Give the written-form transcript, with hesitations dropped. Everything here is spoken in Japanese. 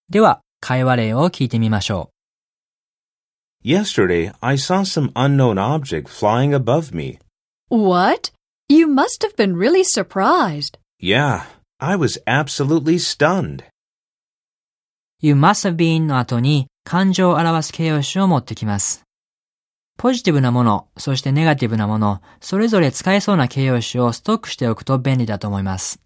では、会話例を聞いてみましょう。Yesterday, I saw some unknown object flying above me. What? You must have been really surprised. Yeah, I was absolutely stunned.You must have been の後に感情を表す形容詞を持ってきます。ポジティブなもの、そしてネガティブなもの、それぞれ使えそうな形容詞をストックしておくと便利だと思います。